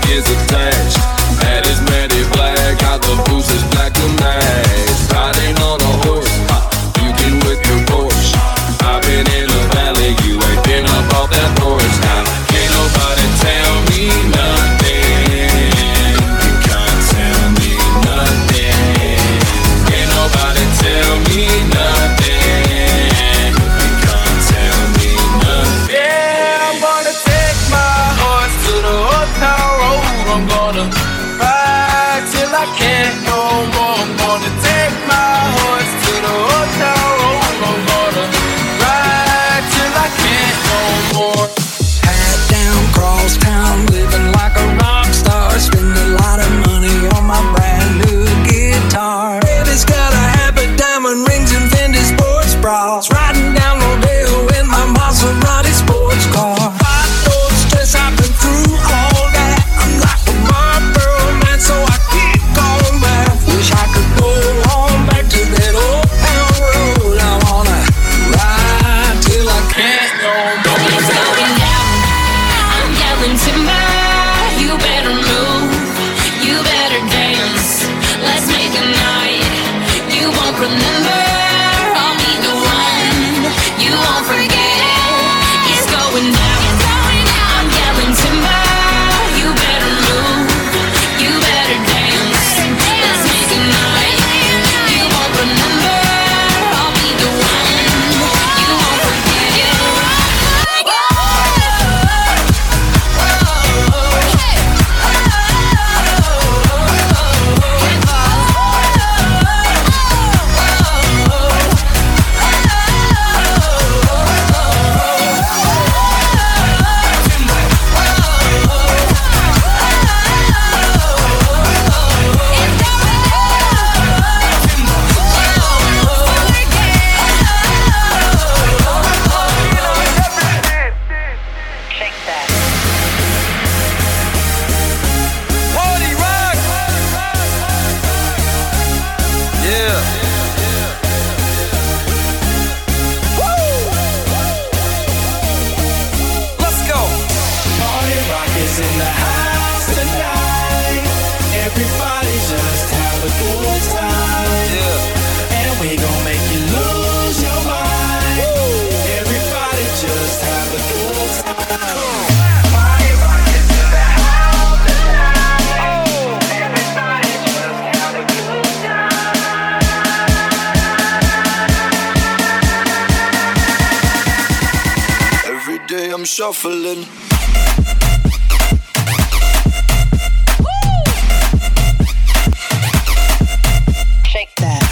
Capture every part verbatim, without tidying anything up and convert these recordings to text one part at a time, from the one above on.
is attached. Matt is Matty Black, got the boots is black to match. Riding on a horse, you can with your Porsche. I've been in the valley, you ain't been up off that porch. Now can't nobody tell me nothing. You can't tell me nothing. Can't nobody tell me nothing. You can't tell me nothing. Yeah, I'm gonna take my horse to the old town road. I'm gonna ride till I can't no more. I'm gonna take my horse to the old town road. I'm gonna ride till I can't no more. Hat down, cross town, living like a rock star. Spend a lot of money on my brand new guitar. Baby's got a habit, diamond rings and Fendi sports bras. Riding down Rodeo in my Maserati sports car. Five doors stress, I've been through all that. I'm like a Marlboro man, so I keep going back. Wish I could go on back to that old town road. I wanna ride till I can't no more. It's going down. I'm yelling timber. You better move. You better dance. Let's make a night you won't remember. I'll be the one you won't forget. It's going down. I'm yelling timber. You better move. You better dance. Let's make a night you won't remember. I'll be the one you won't forget. Party rock! Yeah. Woo! Let's go. Party rock is in the house tonight. Everybody just have a good time. Yeah. And we gon' make you lose your mind. Everybody just have a good time. Party rock is in the house tonight. Everybody just have a good time. Every day I'm shuffling. Shake that.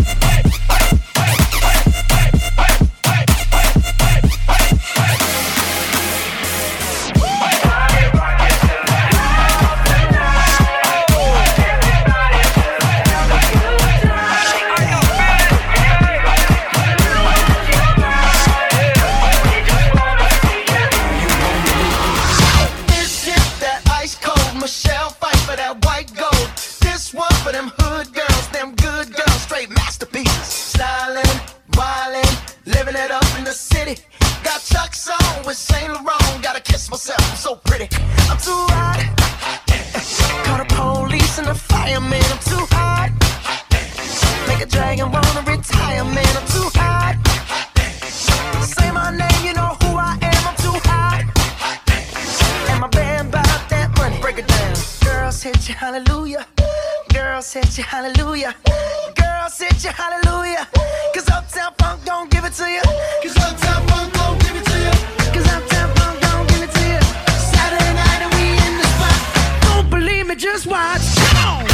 This shit that ice cold. Michelle fight for that white gold. This one for them hood girls, them good girls, straight masterpieces. Stylin', wildin', living it up in the city. Got Chuck's on with Saint Laurent. Gotta kiss myself, I'm so pretty. I'm too hot. Call the police and the fireman. I'm too hot. Make a dragon wanna retire, man. I'm too hot. Say my name, you know who I am. I'm too hot. And my band bout that money. Break it down. Girls hit you, hallelujah. Girls hit you, hallelujah. Girls hit you, hallelujah. Cause Uptown Funk don't give it to you. Cause Uptown Funk don't give it to you. Cause Uptown Funk don't give it to you. Saturday night and we in the spot. Don't believe me, just watch. Come on.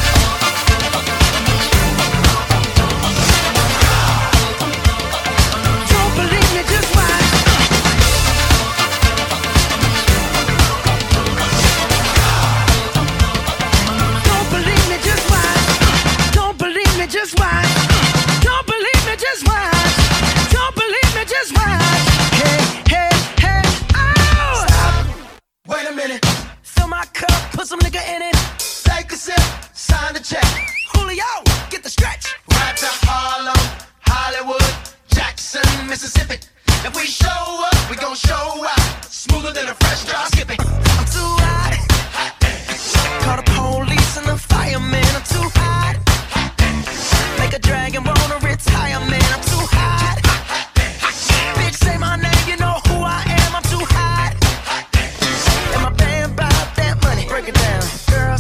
Don't believe me, just watch. Don't believe me, just watch. Don't believe me, just watch. Don't believe me, just watch. Don't believe me, just watch. Hey, hey, hey, oh! Stop. Wait a minute. Fill my cup, put some nigga in it. Take a sip, sign the check. Julio, get the stretch. Right to Harlem, Hollywood, Jackson, Mississippi. If we show up, we gon' show out. Smoother than a fresh drop skipping. I'm too hot.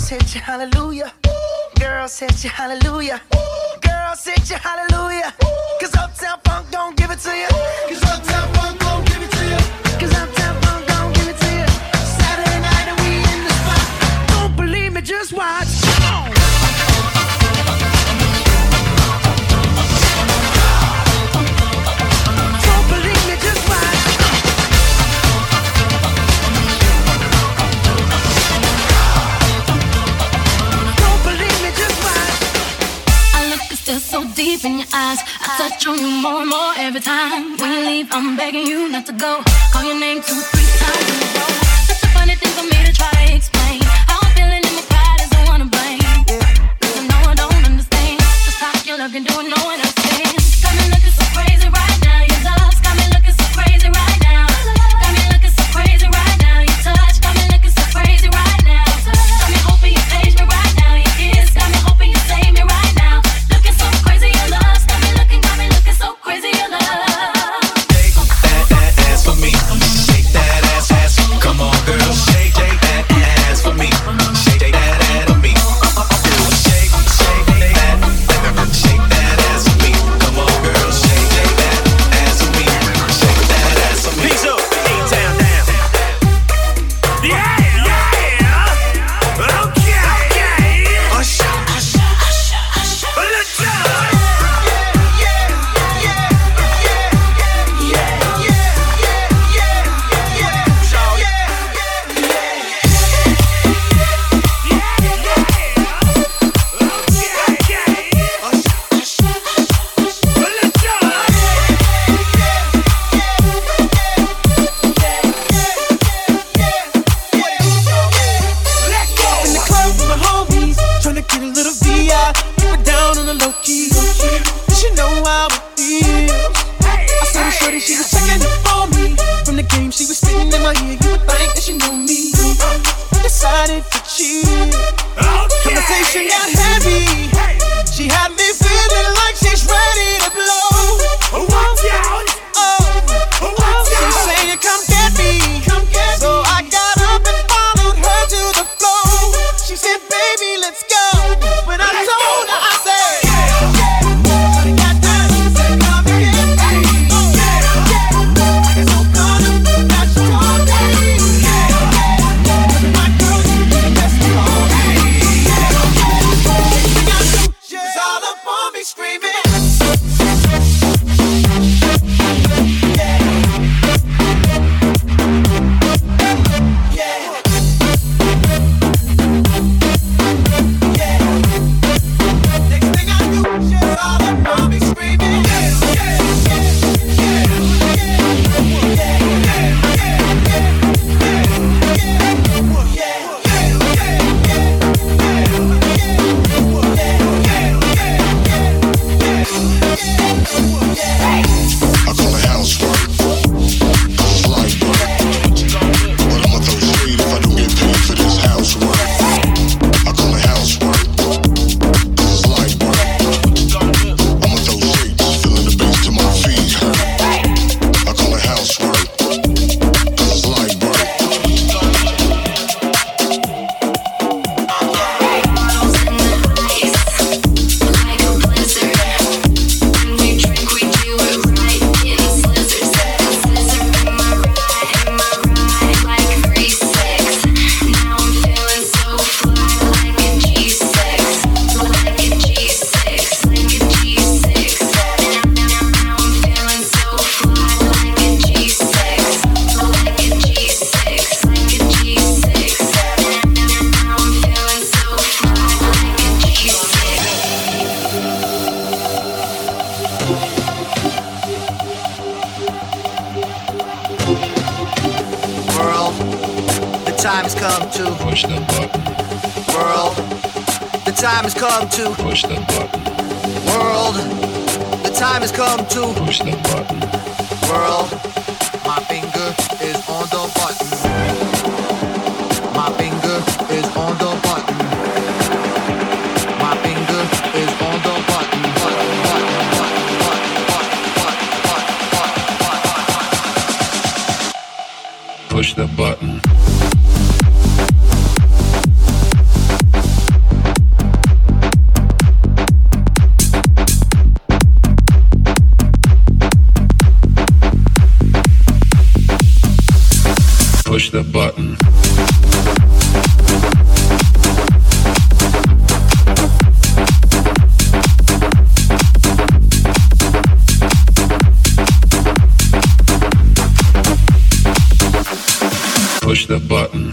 Girls hit you hallelujah. Girls hit you hallelujah. Girls hit you hallelujah. Cause Uptown Funk don't give it to you. Cause Uptown Funk don't give it to you. Cause Uptown Funk don't give it to you. Saturday night and we in the spot. Don't believe me, just watch. Don't believe me, just watch. Don't believe me, just watch. I look still so deep in your eyes. I touch on you more and more every time. When you leave, I'm begging you not to go. Call your name two, three times in a row. Such a funny thing for me to try to explain. How I'm feeling in my pride is the one to blame. Cause I know I don't understand just how your love can do it, no one else can. Got me looking so crazy right now. Your love's got me looking so crazy right now. Got me looking so crazy right now. Your touch got me looking so crazy right now. Got me hoping you page me right now. Your kiss got me hoping you save me right now. Looking so crazy, your love's got me looking, got me looking so crazy, your love. Shake that, that ass for me. Shake that ass, ass. Come on, girl. Shake, shake that ass for me. Shake that ass for me. Shake, shake that, shake that ass for me. Come on, girl. Shake, shake that ass for me. Shake that ass for me. Peace up, A-Town down. Yeah, yeah. Okay, okay. Hush, hush, hush, hush. Let's go. In the club with my homies, tryna get a little V I. Keep it down on the low key. You should know how it feels. I saw the shorty, she was checking up for me. From the game, she was spitting in my ear. You would think that she knew me. I decided to cheat. Conversation got heavy. She had me feeling like she's ready to blow. Oh, she saying, "Come get me." So I got up and followed her to the floor. She said, "Baby, let's go." When I told her, I said, "I got time." She said, "Come and get me." It's so good that you told me. My girl, you the best of all me. Everything I do, she's all up on me screaming. Next thing I knew, she's all up on me screaming. I call it housework. Cause it's light work. But I'ma throw shade if I don't get paid for this housework. I call it housework. Cause it's light work. I'ma throw shade just feeling the bass till my feet hurt. I call it housework. Cause it's light work. Like a blizzard. When we drink, we do it right. Getting slizzard, slizzard in my ride, in my ride, like three six. Now I'm feeling so fly, like a G six, like a G six, like a G six. Now, now, now I'm feeling so fly, like a G six, like a G six, like a G six. Now, now, now I'm feeling so fly, like a G six. World, the time has come to Push the button. world. The time has come to Push the button. world. The time has come to Push the button. world. My finger is on the button. My finger is on the button. My finger is on the button. Button, button, button, button, button, button, button, button. Push the button. the button. Push the button.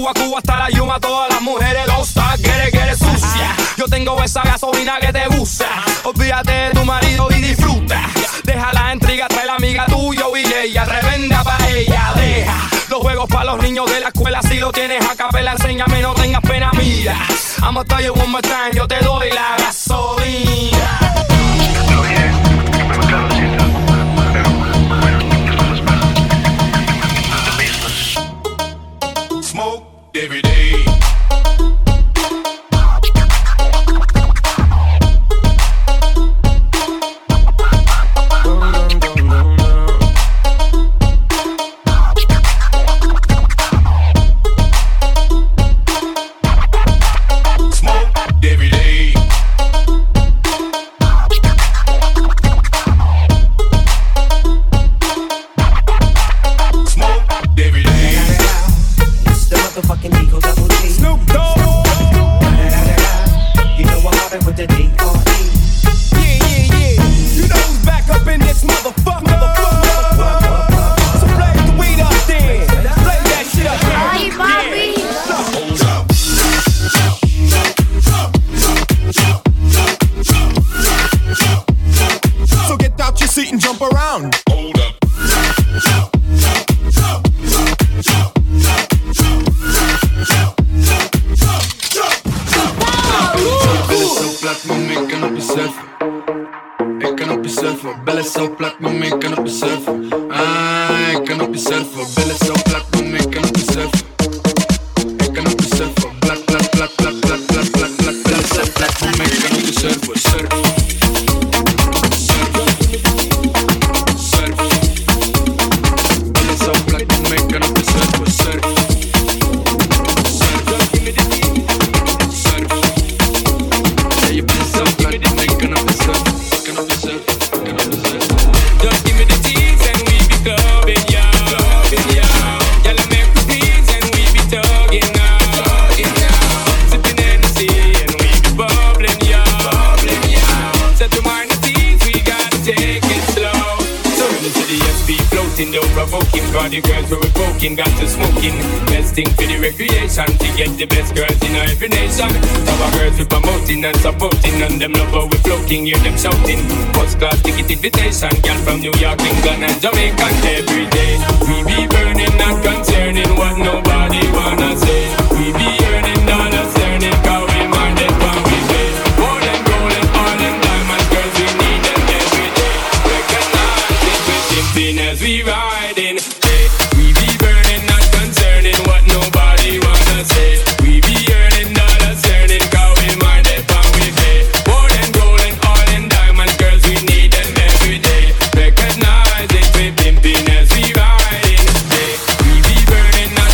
Cuba, Cuba hasta la Yuma, todas las mujeres don't stop, get it, get it sucia. Yo tengo esa gasolina que te gusta. Olvídate de tu marido y disfruta. Deja la intriga, trae la amiga tuya y ella revenda pa' ella. Deja los juegos pa' los niños de la escuela. Si lo tienes a capela, enséñame, no tengas pena, mira. I'ma tell you one more time, yo te doy la gasolina. Smoke every day. And supporting and them love how we floating, hear them shouting. First class ticket invitation, girl from New York, England and Jamaica. Every day we be burning, not concerning what nobody wanna say. We be earning dollars, earning cause we minded when we pay. More than gold and oil and diamonds, girls we need them every day. Recognize it, we simping as we riding. Hey, we be burning, not concerning what nobody wanna say. We be earning dollars, earning cause we minded. Recognize it, we pimping as we riding. Hey, we be burning.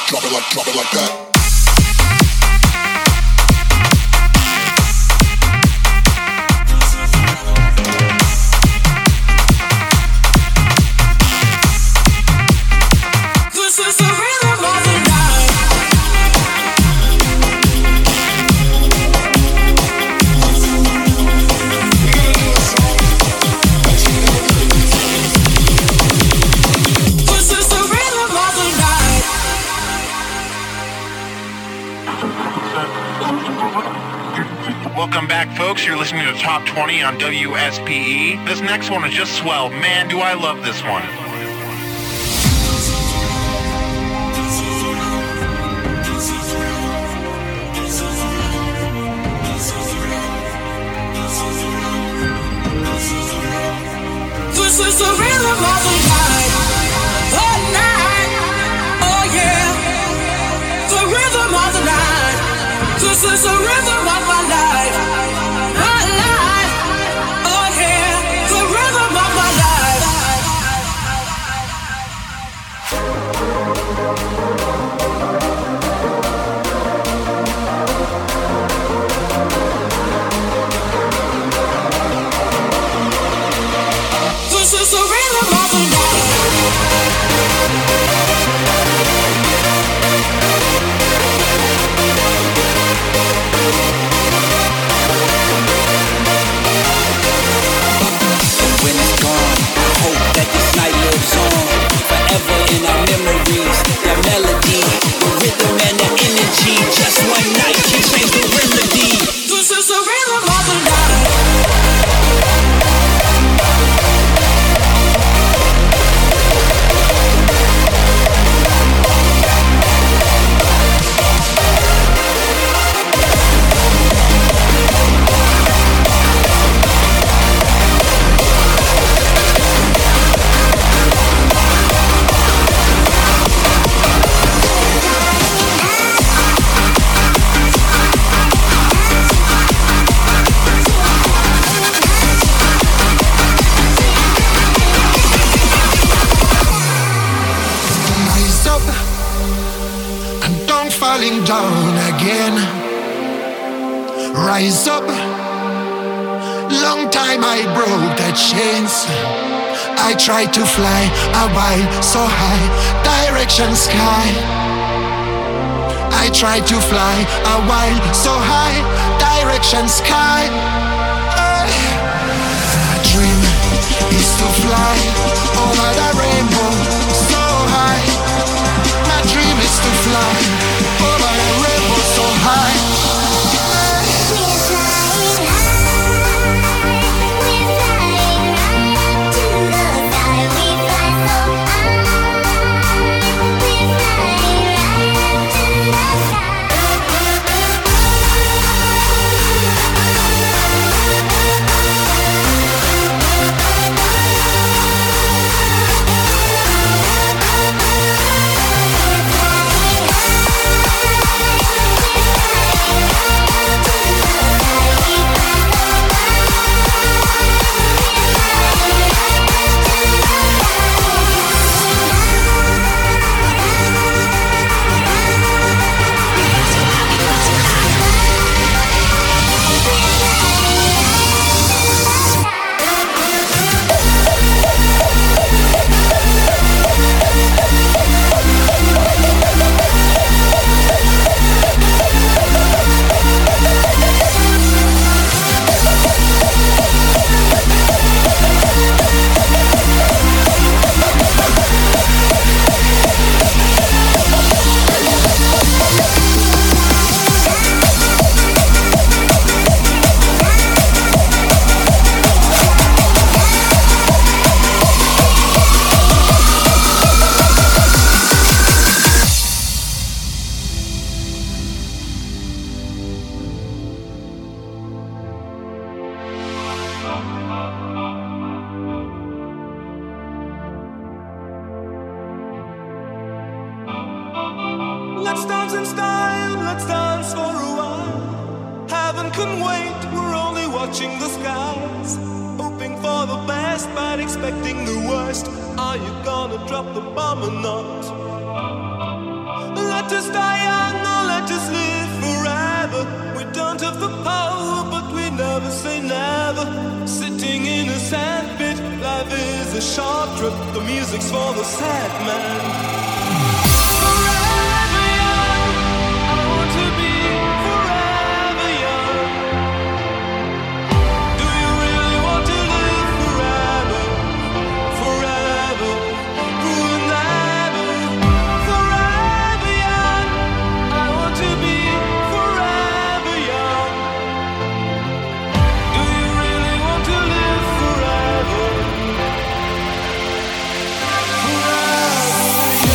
drop it like, drop it like that. Welcome back, folks. You're listening to Top twenty on W S P E. This next one is just swell. Man, do I love this one. This is the rhythm of the night. Oh, night. Oh, yeah. The rhythm of the night. This is the rhythm of my life. My life. Oh, yeah. The rhythm of my life. This is the rhythm of the night. When it's gone, I hope that this night lives on forever in our memories. That melody, the rhythm and the energy. Just one night can change the remedy. This is the rhythm of the night. Rise up and don't falling down again. Rise up. Long time I broke the chains. I tried to fly a while so high, direction sky. I tried to fly a while so high, direction sky. My dream is to fly over the rainbow so high. My dream is to fly over the rainbow so high. Let's dance in style, let's dance for a while. Heaven can wait, we're only watching the skies. Hoping for the best, but expecting the worst. Are you gonna drop the bomb or not? let us die young or let us live forever. We don't have the power, but we never say never. Sitting in a sandpit, life is a short trip. The music's for the sad man. Forever young, I want to be forever young. Do you really want to live forever? Forever, forever, forever young. I want to be forever young. Do you really want to live forever? Forever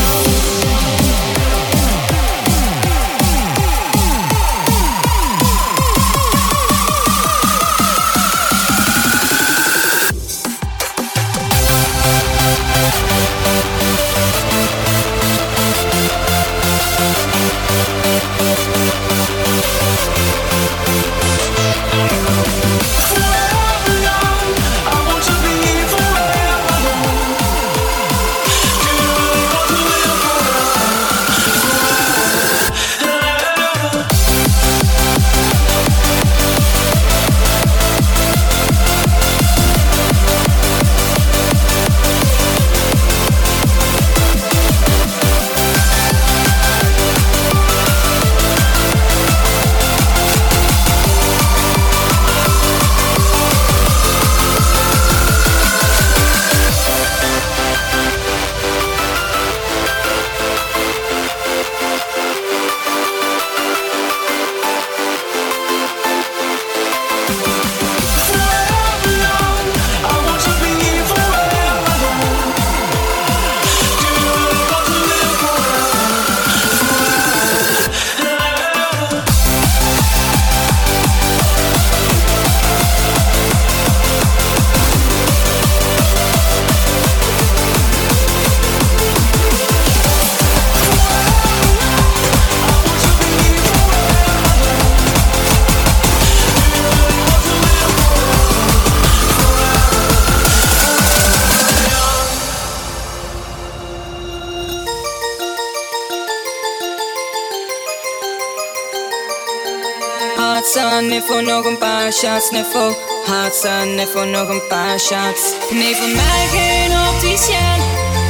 Hot sun, even nog een paar shots, niveau. Hot sun, even nog een paar shots. Nee, voor mij geen opticien,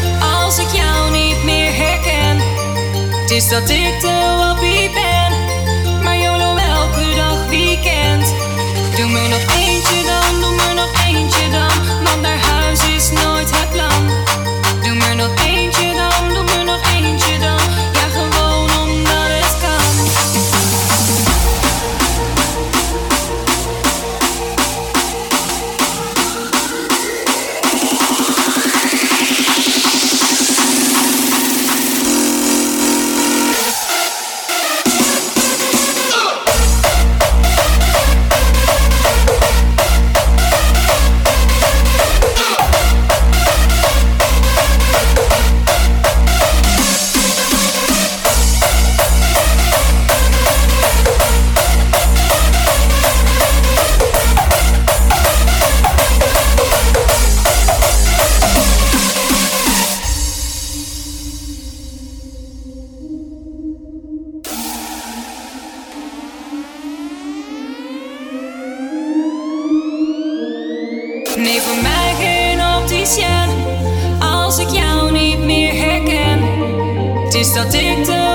als ik jou niet meer herken. Het is dat ik de wappie ben, maar YOLO elke dag weekend. Doe me nog eentje dan, doe me nog eentje dan, want naar huis is nooit het plan. Doe me nog eentje dan, doe me nog eentje dan, ja gewoon omdat het kan. Nee, voor mij geen opticien, als ik jou niet meer herken. Het is dat ik de